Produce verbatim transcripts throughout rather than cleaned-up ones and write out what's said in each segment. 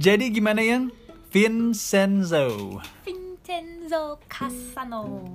Jadi gimana yang Vincenzo? Vincenzo Cassano.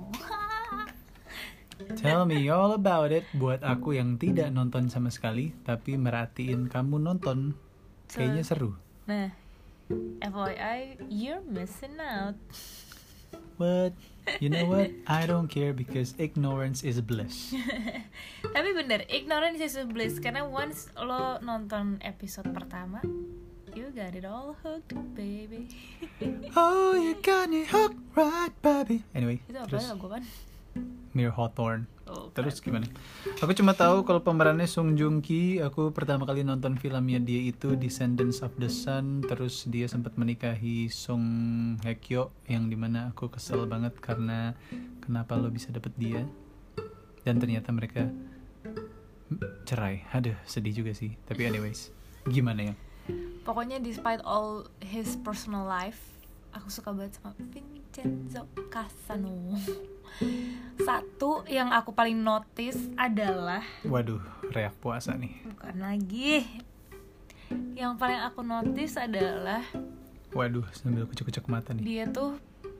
Tell me all about it. Buat aku yang tidak nonton sama sekali, tapi merhatiin kamu nonton, kayaknya seru. Nah, F Y I, you're missing out. What? You know what? I don't care because ignorance is bliss. Tapi bener, ignorance is bliss. Karena once lo nonton episode pertama, you got it all hooked, baby. Oh, you got me hooked, right, baby. Anyway, Itu apa terus lagu kan? Mir Hawthorne. Oh, Terus gimana? Aku cuma tahu kalau pemerannya Song Joong Ki. Aku pertama kali nonton filmnya dia itu Descendants of the Sun. Terus dia sempat menikahi Song Hye Kyo, yang dimana aku kesel banget karena kenapa lo bisa dapet dia. Dan ternyata mereka cerai. Aduh, sedih juga sih. Tapi anyways, gimana ya? Pokoknya despite all his personal life, aku suka banget sama Vincenzo Cassano. Satu yang aku paling notice adalah, Waduh, reak puasa nih. bukan lagi. Yang paling aku notice adalah Waduh, sambil kucek-kucek mata nih. dia tuh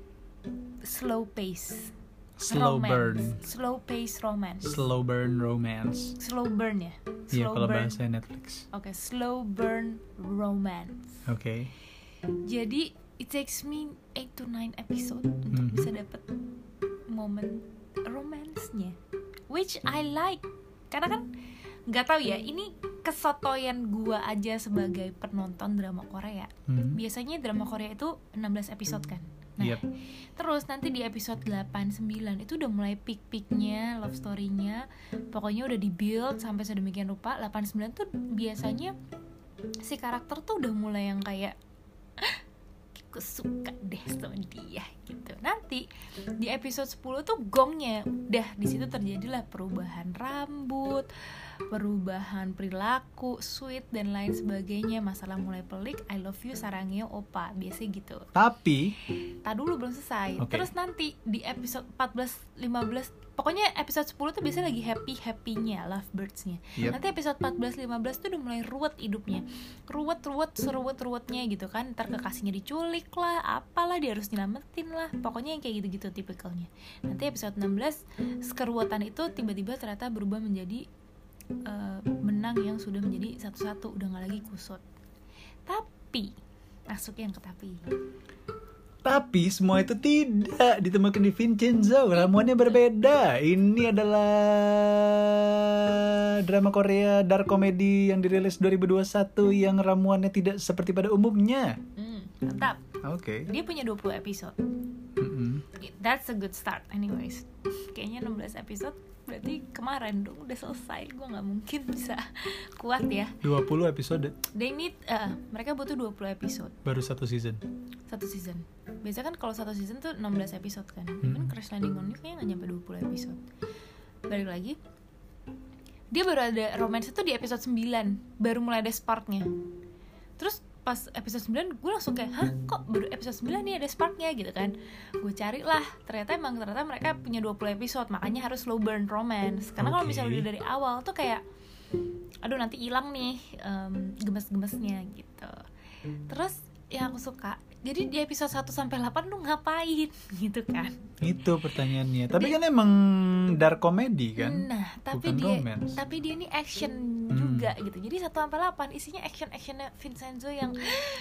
slow pace. Slow romance. burn. Slow pace romance. Slow burn romance. Slow burn ya. Iya, Slow kalau burn. bahasa Netflix. Oke, slow burn romance. Oke. Jadi it takes me eight to nine episode untuk Mhm. bisa dapet momen romance-nya, which I like. Karena kan nggak tahu ya, ini kesotoyan gua aja sebagai penonton drama Korea. Hmm. Biasanya drama Korea itu enam belas episode kan. Nah, Yep. terus nanti di episode delapan sembilan itu udah mulai peak-peaknya love story-nya. Pokoknya udah di-build sampai sedemikian rupa. Delapan sembilan tuh biasanya si karakter tuh udah mulai yang kayak aku suka deh sama dia gitu. Nanti di episode sepuluh tuh gongnya udah di situ terjadilah perubahan rambut, perubahan perilaku, sweet dan lain sebagainya. Masalah mulai pelik, I love you sarangyo opa, biasa gitu. Tapi Tak dulu belum selesai. Okay. Terus nanti di episode empat belas lima belas, pokoknya episode sepuluh tuh biasanya lagi happy-happynya, lovebirds-nya. Yep. Nanti episode empat belas lima belas tuh udah mulai ruwet hidupnya. Ruwet-ruwet, seruwet-ruwetnya gitu kan. Ntar kekasihnya diculik lah, apalah, dia harus nyelamatin lah. Pokoknya yang kayak gitu-gitu tipikalnya. Nanti episode enam belas, keruwetan itu tiba-tiba ternyata berubah menjadi uh, benang yang sudah menjadi satu-satu, udah gak lagi kusut. Tapi, masuk yang ke tapi. Tapi semua itu tidak ditemukan di Vincenzo. Ramuannya berbeda. Ini adalah drama Korea dark comedy yang dirilis dua ribu dua puluh satu yang ramuannya tidak seperti pada umumnya. Hmm, mantap. Oke. Dia punya dua puluh episode. Mm-mm. That's a good start anyways. Kayaknya enam belas episode berarti kemarin dong udah selesai. Gue gak mungkin bisa kuat ya. dua puluh episode They need, uh, mereka butuh dua puluh episode baru satu season. satu season. Biasanya kan kalau satu season tuh enam belas episode kan. Hmm. Even Crash Landing on You kayaknya gak nyampe dua puluh episode. Balik lagi, dia baru ada romance itu di episode sembilan. Baru mulai ada sparknya. Terus pas episode sembilan gue langsung kayak, hah kok baru episode sembilan nih ada sparknya gitu kan. Gue cari lah, ternyata emang ternyata mereka punya dua puluh episode. Makanya harus slow burn romance. Karena kalau Okay. misalnya udah dari awal tuh kayak, aduh nanti hilang nih um, gemes-gemesnya gitu. Terus yang aku suka, jadi di episode satu sampai delapan lu ngapain gitu kan. Itu pertanyaannya. Tapi kan emang dark comedy kan? Nah, tapi Bukan dia romance. tapi dia ini action Hmm. juga gitu. Jadi satu sampai delapan isinya action-actionnya Vincenzo yang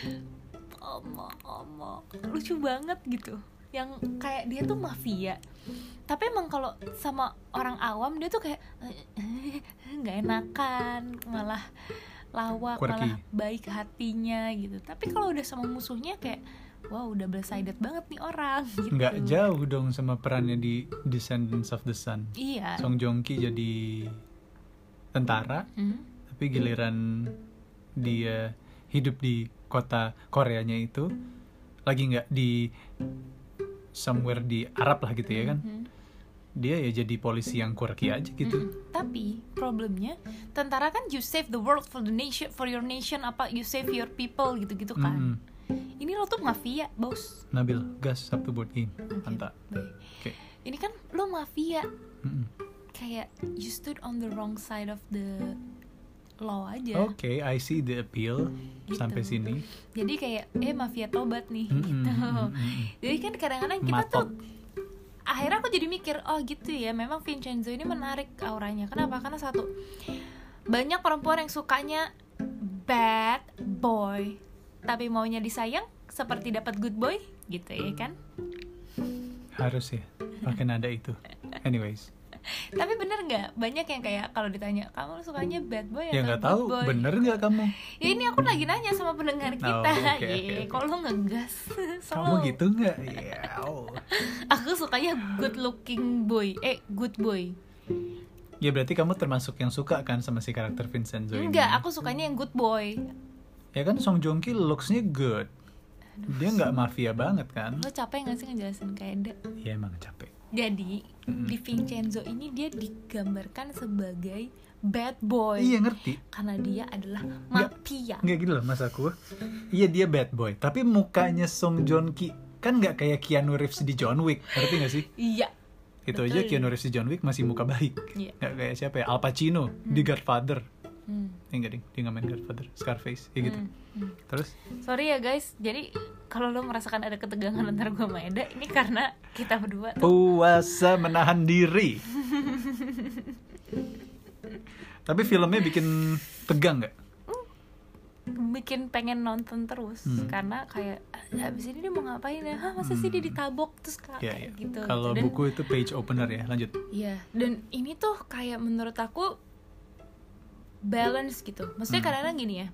omo-omo lucu banget gitu. Yang kayak dia tuh mafia. Tapi emang kalau sama orang awam dia tuh kayak nggak enakan, malah lawak, Quirky. malah baik hatinya gitu. Tapi kalau udah sama musuhnya kayak wow, udah blindsided banget nih orang gitu. Nggak jauh dong sama perannya di Descendants of the Sun. Iya. Song Joong Ki jadi tentara, Hmm. tapi giliran dia hidup di kota Koreanya itu lagi nggak di somewhere di Arab lah gitu ya kan. Hmm. Dia ya jadi polisi yang quirky aja gitu. Mm-mm. Tapi problemnya tentara kan you save the world for the nation, for your nation, apa you save your people gitu-gitu kan. Mm-mm. Ini lo tuh mafia, bos. Nabil, gas Sabtu board game. Oke, Mantap. baik. Oke. Ini kan lo mafia, Mm-mm. kayak you stood on the wrong side of the low aja. Oke, okay, I see the appeal Gitu. sampai sini. Jadi kayak eh mafia tobat nih Mm-mm, gitu. mm-mm. Jadi kan kadang-kadang kita Matok. tuh akhirnya aku jadi mikir, oh gitu ya, memang Vincenzo ini menarik auranya. Kenapa? Karena satu, banyak perempuan yang sukanya bad boy tapi maunya disayang seperti dapat good boy gitu ya kan. Harus ya pakai nada itu. Anyways, Tapi bener nggak, banyak yang kayak kalau ditanya kamu sukanya bad boy ya atau nggak good tahu boy? bener nggak kamu. Ya ini aku lagi nanya sama pendengar kita. Oh, oke, Ye, oke, oke. kok lo ngegas? Kamu Selalu. gitu nggak? Ya. Oh. Aku sukanya good looking boy, eh good boy. Ya berarti kamu termasuk yang suka kan sama si karakter Vincenzo ini? Enggak, aku sukanya yang good boy. Ya kan Song Joong Ki looks-nya good. Dia nggak mafia banget kan? Lo capek gak sih ngejelasin kayak Eda? Ya emang capek. Jadi Mm-mm. di Vincenzo ini dia digambarkan sebagai bad boy. Iya ngerti. Karena dia adalah mafia. Nggak gitu loh mas aku. Iya dia bad boy. Tapi mukanya Song Joong Ki kan nggak kayak Keanu Reeves di John Wick. Ngerti nggak sih? Iya. Itu Betul. aja Keanu Reeves di John Wick masih muka baik. Iya. Nggak kayak siapa ya? Al Pacino di Godfather. Hmm. Eh, enggak ding, dia nggak main Godfather. Scarface, ya gitu. Hmm. Hmm. Terus? Sorry ya guys, jadi kalau lo merasakan ada ketegangan antara gue sama Eda, ini karena kita berdua tuh Puasa menahan diri. Tapi filmnya bikin tegang nggak? bikin pengen nonton terus. Hmm. Karena kayak "Ah, abis ini dia mau ngapain ya? Hah, masa sih dia ditabok terus kayak Ya, ya. gitu. Kalau Dan- buku itu page opener ya, lanjut. Iya, dan ini tuh kayak menurut aku balance gitu. Maksudnya Hmm. kadang-kadang gini ya.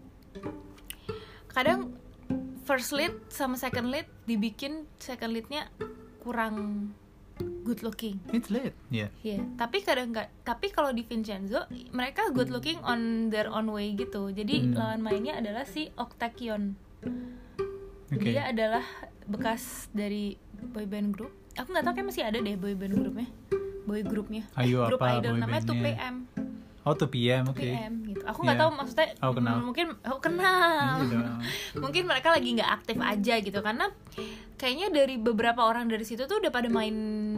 Kadang first lead sama second lead dibikin second leadnya kurang good looking. It's late. Ya. Iya, tapi kadang nggak. Tapi kalau di Vincenzo mereka good looking on their own way gitu. Jadi Hmm. lawan mainnya adalah si Octakion. Oke. Dia adalah bekas dari boyband group. Aku nggak tahu kayak masih ada deh boyband grupnya, boy grupnya. Ayo, Grup apa idol namanya two P boybandnya? M. Oh two P M, oke. two P M gitu. Aku nggak Iya. tahu maksudnya. Aku kenal. mm, Mungkin aku kenal. Iya dong. Mungkin mereka lagi nggak aktif aja gitu karena kayaknya dari beberapa orang dari situ tuh udah pada main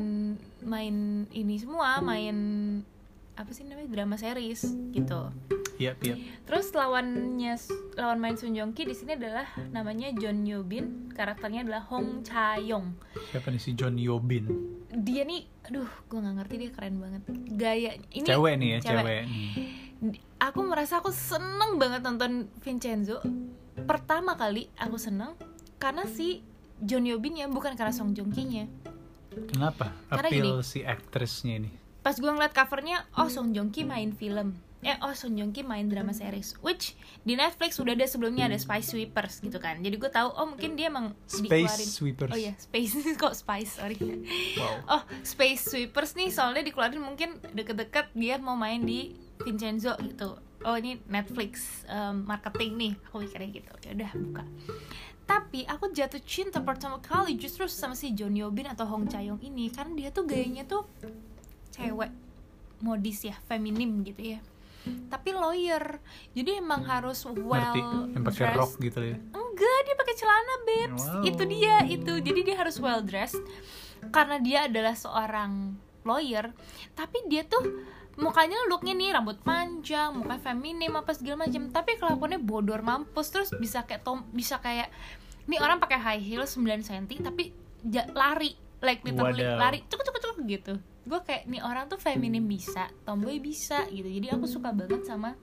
main ini semua, main apa sih namanya drama series gitu. Iya, iya. Terus lawannya lawan main Sun Joong Ki di sini adalah namanya John Yo Bin, karakternya adalah Hong Cha Yong. Siapa nih si John Yo Bin? Dia nih, aduh, gue nggak ngerti, dia keren banget. Gaya ini Cewek nih ya, cewek. Di- Aku merasa aku seneng banget nonton Vincenzo. Pertama kali aku seneng karena si John Yo Bin ya, bukan karena Song Joong Ki-nya. Kenapa? Karena Appeal gini. si aktrisnya ini. Pas gue ngeliat covernya, oh Song Joong Ki main film. Eh, oh Song Joong Ki main drama series. Which di Netflix udah ada sebelumnya, ada Spice Sweepers gitu kan. Jadi gue tahu, oh mungkin dia emang Space dikeluarin. Sweepers. Oh iya, Space kok Spice, sorry. Wow. Oh, Space Sweepers nih soalnya dikeluarin mungkin deket-deket dia mau main di Vincenzo gitu. Oh ini Netflix um, marketing nih, aku mikirnya gitu. Ya udah buka. Tapi aku jatuh cinta pertama kali justru sama si John Yo Bin atau Hong Cha Yong ini karena dia tuh gayanya tuh cewek modis ya, feminim gitu ya. Tapi lawyer, jadi emang harus well Ngerti, yang pakai dressed. rok gitu ya. Enggak, dia pakai celana, babes. Wow. Itu dia, itu. Jadi dia harus well dressed karena dia adalah seorang lawyer. Tapi dia tuh mukanya looknya nih rambut panjang, muka feminim apa segala macam. Tapi kelakuannya bodor mampus, terus bisa kayak tom, bisa kayak nih orang pakai high heel sembilan sentimeter tapi ja, lari, like literally Wadaw. lari, cuk cuk cuk gitu. Gue kayak nih orang tuh feminim bisa, tomboy bisa gitu. Jadi aku suka banget sama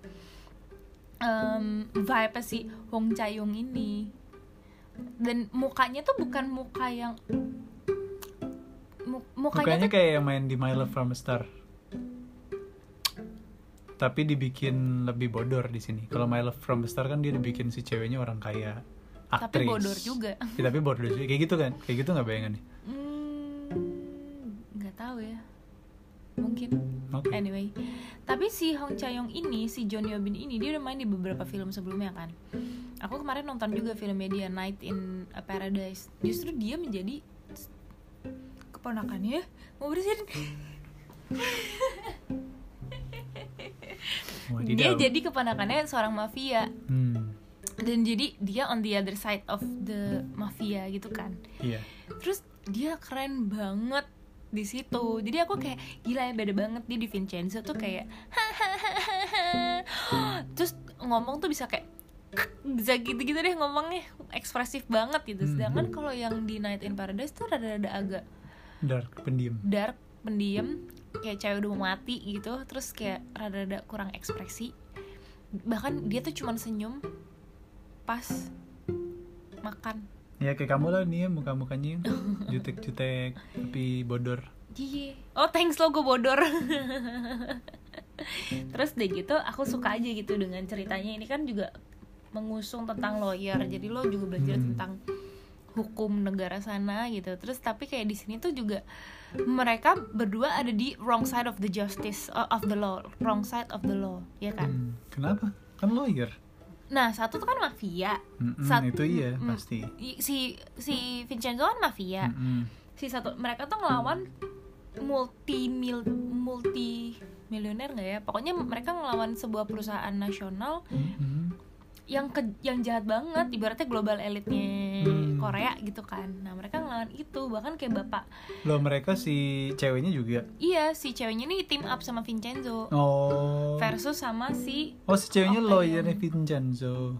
um, vibe si Hong Cha Yong ini. Dan mukanya tuh bukan muka yang mu- mukanya, Mukanya tuh kayak yang main di My Love from a Star. Tapi dibikin lebih bodor di sini. Kalau My Love from a Star kan dia dibikin si ceweknya orang kaya, aktris. tapi bodor juga. Ya, tapi bodor juga. Kayak gitu kan? Kayak gitu nggak bayangannya? Hmm, nggak tahu ya. Mungkin. Oke. Anyway, tapi si Hong Cha Yong ini, si John Yo Bin ini dia udah main di beberapa film sebelumnya kan. Aku kemarin nonton juga filmnya dia, Night in a Paradise. Justru dia menjadi keponakannya. Mau bersihin. Wadidaw. Dia jadi keponakannya seorang mafia. Hmm. Dan jadi dia on the other side of the mafia gitu kan. Iya. Terus dia keren banget di situ. Jadi aku kayak gila ya, beda banget dia di Vincenzo tuh kayak ngomong tuh bisa kayak bisa gitu-gitu deh ngomongnya, ekspresif banget gitu. Sedangkan kalau yang di Night in Paradise tuh rada-rada agak dark, pendiam. Dark, pendiam, kayak cewek udah mau mati gitu, terus kayak rada-rada kurang ekspresi. Bahkan dia tuh cuman senyum pas makan. Ya kayak kamu lah nih ya, muka-mukanya jutek-jutek tapi bodor. Iya. Oh thanks lo, gue bodor. Terus deh gitu, aku suka aja gitu dengan ceritanya. Ini kan juga mengusung tentang lawyer, jadi lo juga belajar hmm. tentang hukum negara sana gitu. Terus tapi kayak di sini tuh juga mereka berdua ada di wrong side of the justice of the law, wrong side of the law, ya kan? Hmm. Kenapa? Kan lawyer. Nah satu tuh kan mafia. Mm-mm, Sat- itu iya mm, pasti. Si si Vincenzo kan mafia. Mm-mm. Si satu mereka tuh ngelawan multi mil multi milioner nggak ya? Pokoknya mereka ngelawan sebuah perusahaan nasional. Mm-hmm. yang ke, yang jahat banget, ibaratnya global elitnya hmm. Korea gitu kan. Nah mereka ngelawan itu, bahkan kayak bapak. Loh mereka si ceweknya juga? Iya, si ceweknya nih team up sama Vincenzo. Oh. Versus sama si. Oh si ceweknya lawyernya Vincenzo.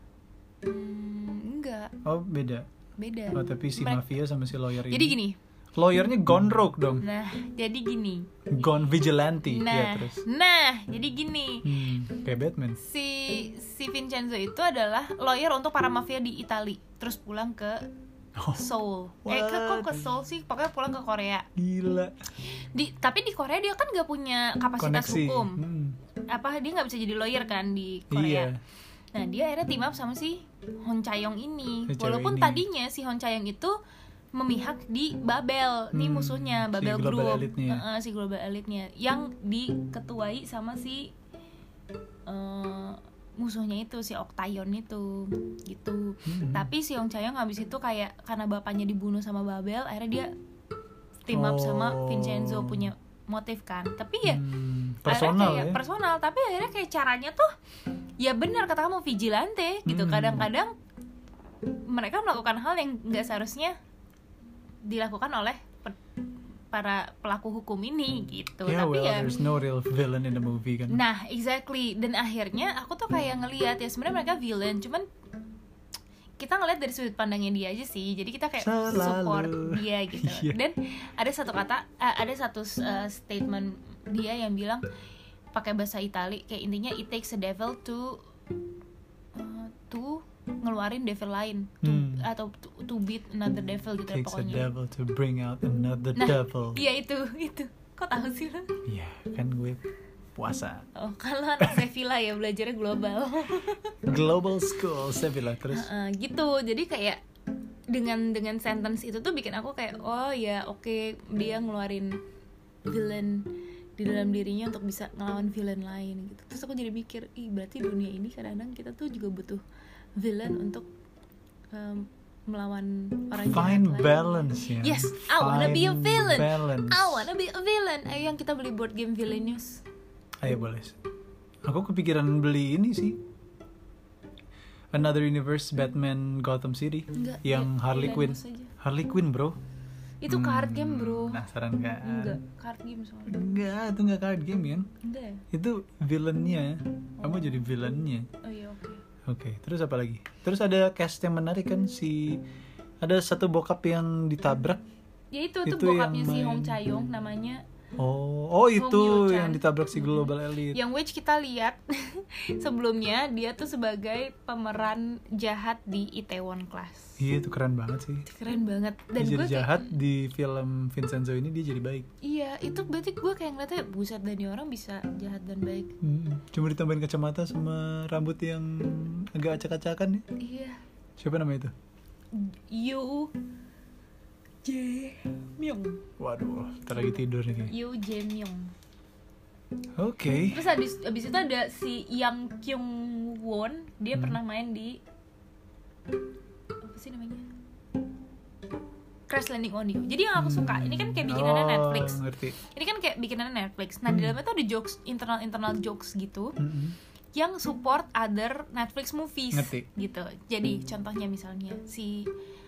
Hmm, enggak. Oh beda. Beda. Oh tapi si mereka, mafia sama si lawyer ini. Jadi gini. Lawyernya gone rogue dong. Nah, jadi gini. Gone vigilante. Nah, ya, terus. Nah, jadi gini. Hmm, kayak Batman. Si si Vincenzo itu adalah lawyer untuk para mafia di Itali. Terus pulang ke oh, Seoul. What? Eh, ke, kok ke Seoul sih? Pokoknya pulang ke Korea. Gila. Di tapi di Korea dia kan gak punya kapasitas koneksi. Hukum. Hmm. Apa dia nggak bisa jadi lawyer kan di Korea. Iya. Nah, dia akhirnya team up sama si Hon Chae-yong ini. Si Walaupun ini. tadinya si Hon Chae-yong itu memihak di Babel, nih hmm, musuhnya Babel si global Group, uh, si global elitnya, yang diketuai sama si uh, musuhnya itu si Octagon itu, gitu. Hmm. Tapi si Hong Chae-yong habis itu kayak karena bapaknya dibunuh sama Babel, akhirnya dia team up oh. sama Vincenzo, punya motif kan. Tapi ya hmm, personal kayak ya. personal, tapi akhirnya kayak caranya tuh ya benar kata kamu vigilante gitu. Hmm. Kadang-kadang mereka melakukan hal yang nggak seharusnya dilakukan oleh pe- para pelaku hukum ini gitu. Yeah, tapi well, ya there's no real villain in the movie kan. Nah, exactly. Dan akhirnya aku tuh kayak ngelihat ya sebenarnya mereka villain, cuman kita ngelihat dari sudut pandangnya dia aja sih. Jadi kita kayak Selalu. support dia gitu. Yeah. Dan ada satu kata, uh, ada satu uh, statement dia yang bilang pakai bahasa Itali kayak intinya it takes a devil to uh, to ngeluarin devil lain to, hmm. atau to, to beat another devil gitu. Takes pokoknya. a devil to bring out another nah, devil. Iya itu itu. Kok tahu sih lo? Iya kan gue puasa. Oh kalau anak Sevilla ya belajarnya global. Global School Sevilla terus. Uh, uh, gitu. Jadi kayak dengan dengan sentence itu tuh bikin aku kayak oh ya oke okay, dia ngeluarin villain di dalam dirinya untuk bisa ngelawan villain lain gitu. Terus aku jadi mikir, ih berarti dunia ini kadang-kadang kita tuh juga butuh villain untuk um, melawan orang jahat. Find lain. balance ya. Yes, I wanna be a villain. Balance. I wanna be a villain. Ayo yang kita beli board game Villainous. Ayo boleh. Aku kepikiran beli ini sih. Another Universe Batman Gotham City. Enggak, yang ya, Harley Quinn. aja. Harley Quinn bro. Itu card game bro. Penasaran gak? Enggak, card game soalnya. Enggak, itu enggak card game kan? Enggak ya? Itu villainnya. Kamu Oh. jadi villainnya. Oh iya oke. Okay. Oke, okay, terus apa lagi? Terus ada cast yang menarik kan si ada satu bokap yang ditabrak. Ya itu, itu, Itu bokapnya yang si main. Hong Chae-yong namanya. Oh, oh itu Hong Yoo-chan. yang ditabrak si Global Elite. Yang which kita lihat sebelumnya dia tuh sebagai pemeran jahat di Itaewon Class. Iya itu keren banget sih. Keren banget. Dan Dia gue jadi jahat kayak, di film Vincenzo ini dia jadi baik. Iya, itu berarti gue kayak ngeliatnya buset dan orang bisa jahat dan baik. Hmm, cuma ditambahin kacamata sama rambut yang agak acak-acakan ya. Iya. Siapa namanya itu? Yoo Jae-myung. Waduh, ntar lagi tidur nih kayaknya. Yoo Jae-myung. Oke. Okay. Terus abis, abis itu ada si Yang Kyung Won. Dia hmm. pernah main di apa sih namanya? Crash Landing on You. Jadi yang aku suka, ini kan kayak bikinannya oh, Netflix. Ngerti. Ini kan kayak bikinannya Netflix. Nah, hmm. di dalamnya tuh ada jokes, internal-internal jokes gitu. Hmm. Yang support other Netflix movies. Ngerti. Gitu. Jadi, contohnya misalnya si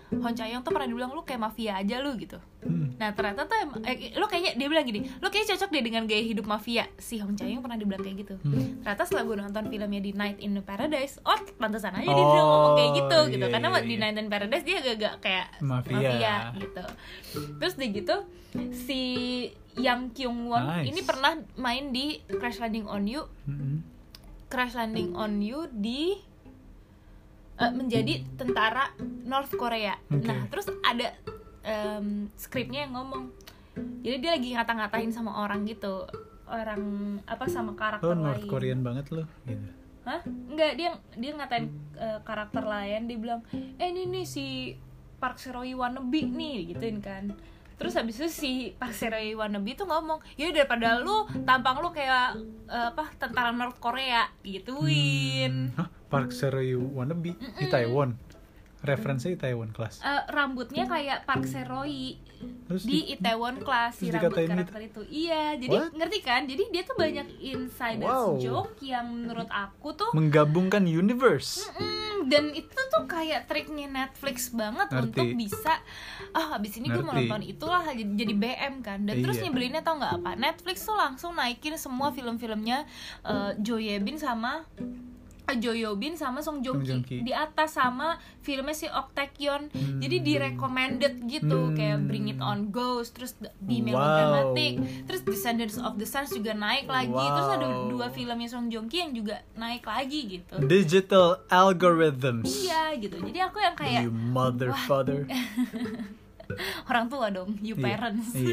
Hon Cha-young tuh pernah dibilang lu kayak mafia aja lu gitu. Hmm. Nah ternyata tuh em- eh, lu kayaknya dia bilang gini, lu kayaknya cocok deh dengan gaya hidup mafia. Si Hon Cha-young pernah dibilang kayak gitu. Hmm. Ternyata setelah gue nonton filmnya di Night in Paradise, oh pantesan aja dia Oh, bisa ngomong kayak gitu gitu. iya, Karena iya, di iya. Night in Paradise dia agak-agak kayak Mafia. gitu. Terus udah gitu si Yang Kyung Won Nice. ini pernah main di Crash Landing on You. Mm-mm. Crash Landing on You di uh, menjadi tentara North Korea. Oke. Nah, terus ada um, skripnya yang ngomong. Jadi dia lagi ngata-ngatain sama orang gitu. Orang apa sama karakter Lo lain. North Korean banget lo gitu. Hah? Enggak, dia dia ngatain uh, karakter lain, dia bilang, "Eh, ini nih si Park Seo-hye wannabe nih," gituin kan. Terus habis itu si Park Seo-hye wannabe tuh ngomong, "Ya daripada lu tampang lu kayak uh, apa tentara North Korea," gituin. Hah? Park Seo-hye wannabe di Taiwan. Referensinya di Taiwan kelas. Uh, rambutnya kayak Park Seo-hye Terus di Itaewon Class si terus rambut dikatain karakter itu. Iya, jadi What? ngerti kan? Jadi dia tuh banyak insider Wow. joke yang menurut aku tuh menggabungkan universe. Mm, dan itu tuh kayak triknya Netflix banget Ngerti. untuk bisa ah habis ini gue mau Ngerti. nonton itulah jadi, jadi B M kan. Dan terus Iya. nyebelinnya tau nggak apa, Netflix tuh langsung naikin semua film-filmnya uh, Jo Ye Bin sama uh, Jo Yo Bin sama Song Joong Song Joong Ki Ki. di atas sama filmnya si Ok Taek Yeon. Hmm. Jadi di recommended gitu Hmm. kayak Bring It On Ghost, terus Be Wow. Melodramatic, terus Descendants of the Suns juga naik lagi. Terus ada Wow. dua filmnya Song Joong Ki yang juga naik lagi gitu. Digital algorithms. Iya gitu. Jadi aku yang kayak You mother father. orang tua dong, you Iya, parents. Iya.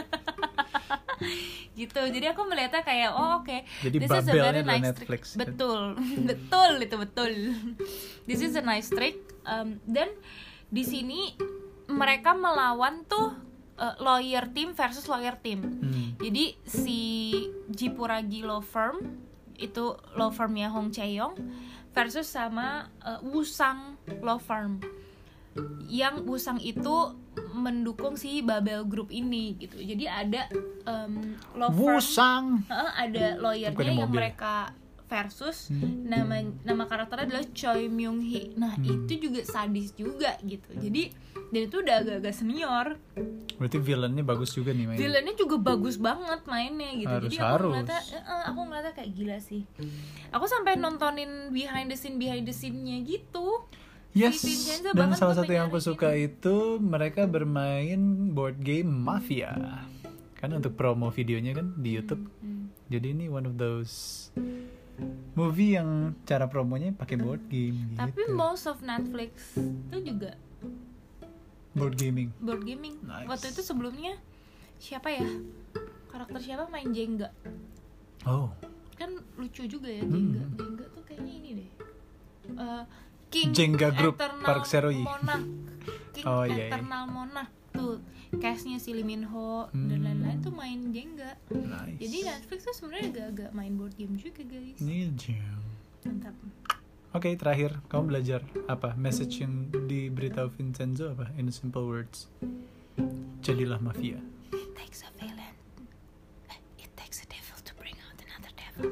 Gitu. Jadi aku melihatnya kayak oh oke. Jadi This is a Babelnya very adalah nice Netflix. trick. Betul. betul itu betul. This is a nice trick. Um, dan di sini mereka melawan tuh uh, lawyer team versus lawyer team. Hmm. Jadi si Jipuragi Law Firm itu law firmnya Hong Chae-young versus sama uh, Wusang Law Firm. Yang Wusang itu mendukung si Babel Group ini gitu. Jadi ada um, law firm, Wusang. uh, ada lawyernya Bukan di yang mobil. mereka versus Hmm. nama nama karakternya adalah Choi Myung Hee. Nah, Hmm. itu juga sadis juga gitu. Jadi dan itu udah agak-agak senior. Berarti villainnya bagus juga nih mainnya. Villainnya juga bagus banget mainnya gitu. Harus, Jadi aku harus. ngeliatnya, eh, aku ngeliatnya kayak gila sih. Aku sampai nontonin behind the scene behind the scene-nya gitu. Yes, Si Vincenzo dan banget salah tuh satu yang aku pengen suka itu mereka bermain board game Mafia. Kan untuk promo videonya kan di YouTube. Hmm. Jadi ini one of those movie yang cara promonya pakai board game Tapi gitu. most of Netflix itu juga Board gaming. board gaming. Nice. Waktu itu sebelumnya siapa ya? Karakter siapa main Jenga? Oh, Kan lucu juga ya Hmm. Jenga. Jenga tuh kayaknya ini deh. Eh, King Jenga Group, Eternal Park Seo-hye. Monarch. King Oh, iya, iya. Eternal Monarch tuh. Cast-nya si Lee Min Ho Hmm. dan lain-lain tuh main Jenga. nice. Jadi Netflix tuh sebenarnya agak-agak main board game juga guys. Ninja. Mantap. Oke, terakhir kamu belajar apa? Message yang diberitahu Vincenzo apa? In simple words. Jadilah mafia. It takes a villain. Eh, It takes a devil to bring out another devil.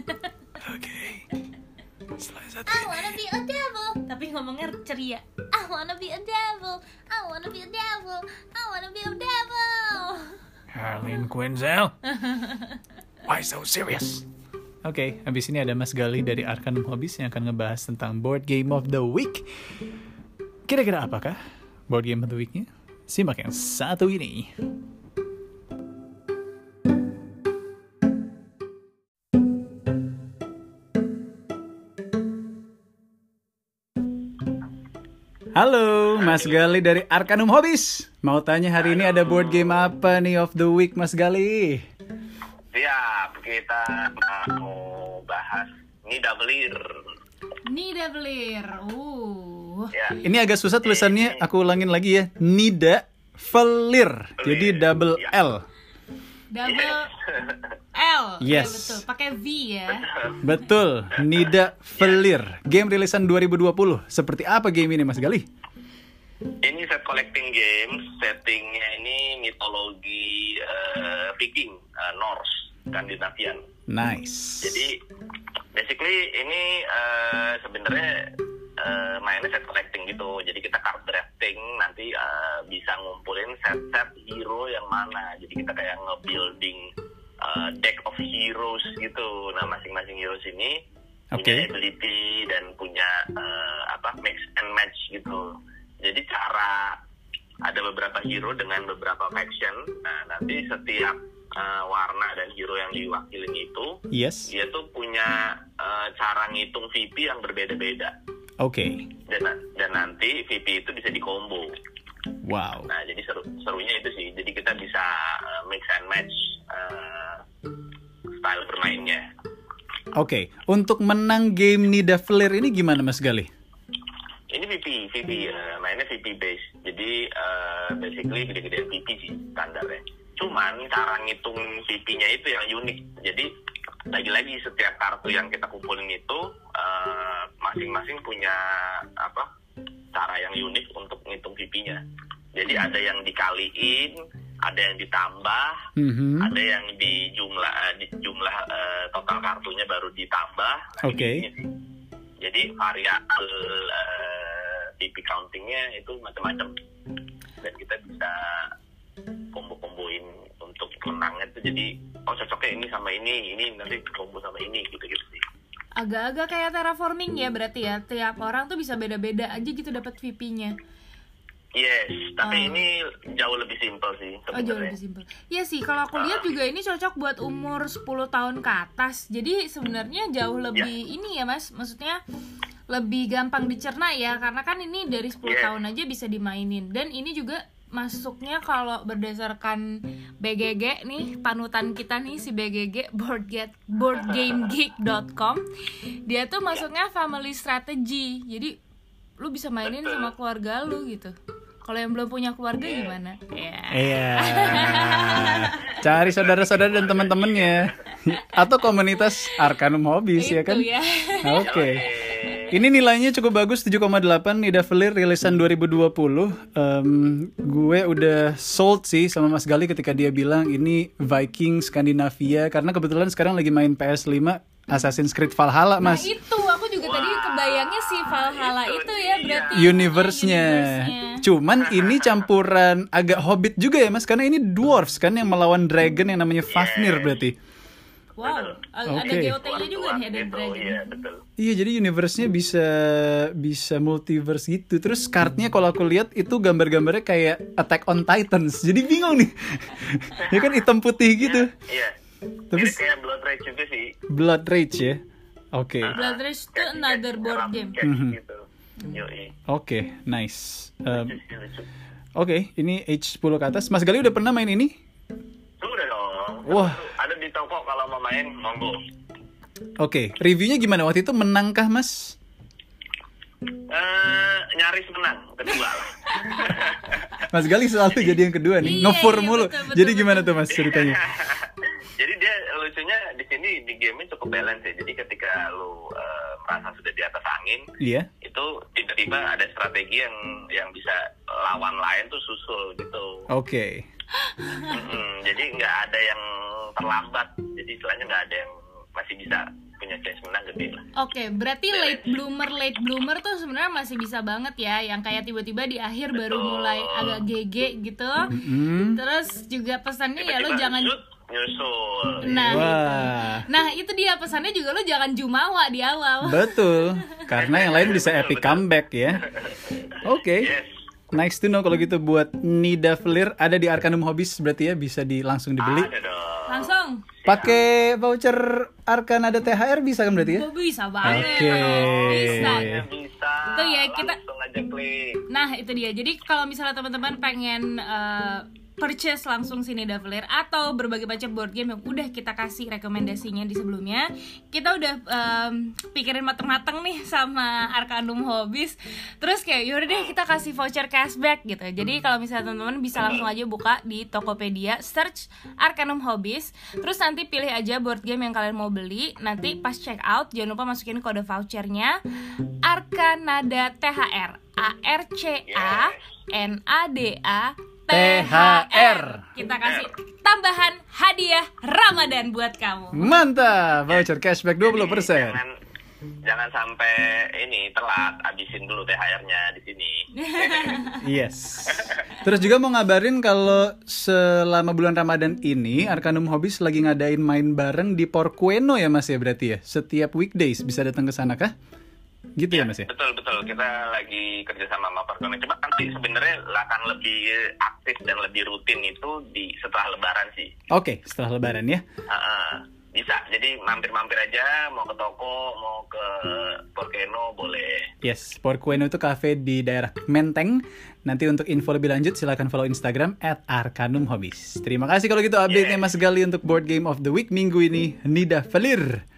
Oke. Setelah satu I ini. wanna be a devil. Tapi ngomongnya ceria. I wanna be a devil. I wanna be a devil. I wanna be a devil. Harleen Quinzel. Why so serious? Oke, habis ini ada Mas Gali dari Arcanum Hobbies yang akan ngebahas tentang Board Game of the Week. Kira-kira apakah Board Game of the Week-nya? Simak yang satu ini. Halo, Mas Gali dari Arcanum Hobbies. Mau tanya hari ini ada board game apa nih of the week, Mas Gali? Siap, kita mau bahas Nidavellir. Nidavellir. Uh. Ya, Ini agak susah tulisannya, aku ulangin lagi ya. Nidavellir. Jadi double L. Double L. Ya, Yes. betul. Pakai V ya. Betul, Nidavellir. Game rilisan dua ribu dua puluh. Seperti apa game ini, Mas Gali? ini set collecting games, settingnya ini mitologi eh, Viking, eh, Norse, Skandinavian. Nice. Jadi basically ini eh, sebenarnya eh, mainnya set collecting gitu. Jadi kita card drafting set-set hero yang mana. Jadi kita kayak nge-building uh, deck of heroes gitu. Nah, masing-masing heroes ini Okay. punya ability dan punya uh, apa mix and match gitu. Jadi cara ada beberapa hero dengan beberapa faction. Nah, nanti setiap uh, warna dan hero yang diwakilin itu, Yes. dia tuh punya uh, cara ngitung V P yang berbeda-beda. Oke. Okay. Dan dan nanti V P itu bisa dikombo. Wow. Nah, jadi seru serunya itu sih. Jadi kita bisa uh, mix and match uh, style bermainnya. Oke, okay. Untuk menang game Nidavellir ini gimana Mas Galih? Ini V P, V P, uh, mainnya V P base. Jadi uh, basically gede-gedean V P sih standarnya. Cuman cara ngitung V P-nya itu yang unik. Jadi lagi-lagi setiap kartu yang kita kumpulin itu uh, masing-masing punya apa cara yang unik untuk ngitung V P-nya. Jadi ada yang dikaliin, ada yang ditambah, Mm-hmm. ada yang di jumlah di jumlah uh, total kartunya baru ditambah. Nah, Oke. ini sih. Jadi variabel uh, V P countingnya itu macam-macam dan kita bisa kombo-komboin untuk menangnya itu. Jadi oh cocoknya ini sama ini, ini nanti kombo sama ini gitu-gitu sih. Agak-agak kayak terraforming ya berarti ya. Tiap orang tuh bisa beda-beda aja gitu dapat V P-nya. Yes, tapi Oh. ini jauh lebih simpel sih Oh jauh sebenarnya. lebih simpel. Iya sih, kalau aku lihat juga ini cocok buat umur sepuluh tahun ke atas. Jadi sebenarnya jauh lebih ini ya Mas. Maksudnya lebih gampang dicerna ya. Karena kan ini dari sepuluh Yes. tahun aja bisa dimainin. Dan ini juga masuknya kalau berdasarkan B G G nih, panutan kita nih si B G G boardgame boardgamegeek dot com. Dia tuh masuknya family strategy. Jadi lu bisa mainin sama keluarga lu gitu. Kalau yang belum punya keluarga gimana? Ya. Iya. Cari saudara-saudara dan teman-temannya atau komunitas Arcanum Hobbies ya kan? Itu ya. Oke. Ini nilainya cukup bagus tujuh koma delapan Nidavellir rilisan dua ribu dua puluh. Um, gue udah sold sih sama Mas Galih ketika dia bilang ini Viking Skandinavia karena kebetulan sekarang lagi main P S lima Assassin's Creed Valhalla, Nah Mas. itu aku juga tadi kebayangnya si Valhalla itu itu ya berarti Universe-nya. Cuman ini campuran agak Hobbit juga ya Mas, karena ini dwarves kan yang melawan dragon yang namanya Fafnir berarti. Wow, ada Oke. G O T-nya juga nih, ada Gitu, dragon. iya betul. Iya, jadi universe-nya bisa bisa multiverse gitu. Terus kartnya kalau aku lihat itu gambar-gambarnya kayak Attack on Titans. Jadi bingung nih. Ya kan hitam putih gitu. Iya. Tapi Ini kayak Blood Rage juga sih. Blood Rage ya. Oke. Blood Rage itu another board game. Kayak Mhm. gitu. Yoi. Oke, nice. Um, Lucu, lucu. Oke, ini age sepuluh ke atas. Mas Galih udah pernah main ini? Udah dong. Wah. Ada di toko kalau mau main, monggo. Oke, reviewnya gimana waktu itu, menangkah Mas? Eh, nyaris menang kedua lah. Mas Galih selalu jadi yang kedua nih, Iya, nge-four iya, mulu. betul, betul, Jadi betul. gimana tuh Mas ceritanya? Jadi dia lucunya di sini di game cukup balance ya. Jadi ketika lu eh, merasa sudah di atas angin, Iya. itu tiba-tiba ada strategi yang yang bisa lawan lain tuh susul gitu. Oke. Mm-mm, jadi nggak ada yang terlambat. Jadi istilahnya nggak ada yang masih bisa punya chance menang gede lah. Oke, berarti late bloomer late bloomer tuh sebenarnya masih bisa banget ya, yang kayak tiba-tiba di akhir baru Betul. mulai agak G G gitu. Hmm. Terus juga pesannya ya lo Tiba-tiba jangan shoot, nyusul. Nah, itu. Wah. Nah, itu dia pesannya juga lo jangan jumawa di awal. Betul. Karena yang lain bisa epic comeback ya. Oke. Yes. Nice to know kalau gitu buat Nidavellir ada di Arcanum Hobbies berarti ya bisa di langsung dibeli. Ada dong. Langsung. Pakai voucher Arcan ada T H R bisa kan berarti ya? Tuh bisa banget. Oke. Bisa. Ya, bisa. Itu ya, kita- langsung aja klik. Nah, itu dia. Jadi kalau misalnya teman-teman pengen eh, purchase langsung sini Nidavellir atau berbagai macam board game yang udah kita kasih rekomendasinya di sebelumnya, kita udah em, pikirin mateng-mateng nih sama Arcanum Hobbies. Terus kayak yaudah deh kita kasih voucher cashback gitu. Jadi kalau misalnya teman-teman bisa langsung aja buka di Tokopedia, search Arcanum Hobbies, terus nanti pilih aja board game yang kalian mau beli. Nanti pas check out jangan lupa masukin kode vouchernya Arcanada T H R, A R C A N A D A T H R. Kita kasih tambahan hadiah Ramadan buat kamu. Mantap, voucher cashback dua puluh persen. Jangan jangan sampai ini telat, abisin dulu T H R-nya di sini. Yes. Terus juga mau ngabarin kalau selama bulan Ramadan ini Arkanum Hobbies lagi ngadain main bareng di Porcueno ya Mas ya berarti ya. Setiap weekdays bisa datang ke sana kah? Gitu ya, ya Mas ya? Betul betul. Kita lagi kerjasama sama Porcueno. Coba nanti sebenarnya akan lebih aktif dan lebih rutin itu di setelah Lebaran sih. Oke, setelah Lebaran ya. Uh, bisa. Jadi mampir-mampir aja, mau ke toko, mau ke Porcueno boleh. Yes, Porcueno itu cafe di daerah Menteng. Nanti untuk info lebih lanjut silakan follow Instagram at arkanum hobbies. Terima kasih kalau gitu update-nya Yeah. Mas Gali untuk Board Game of the Week minggu ini. Nida Falir.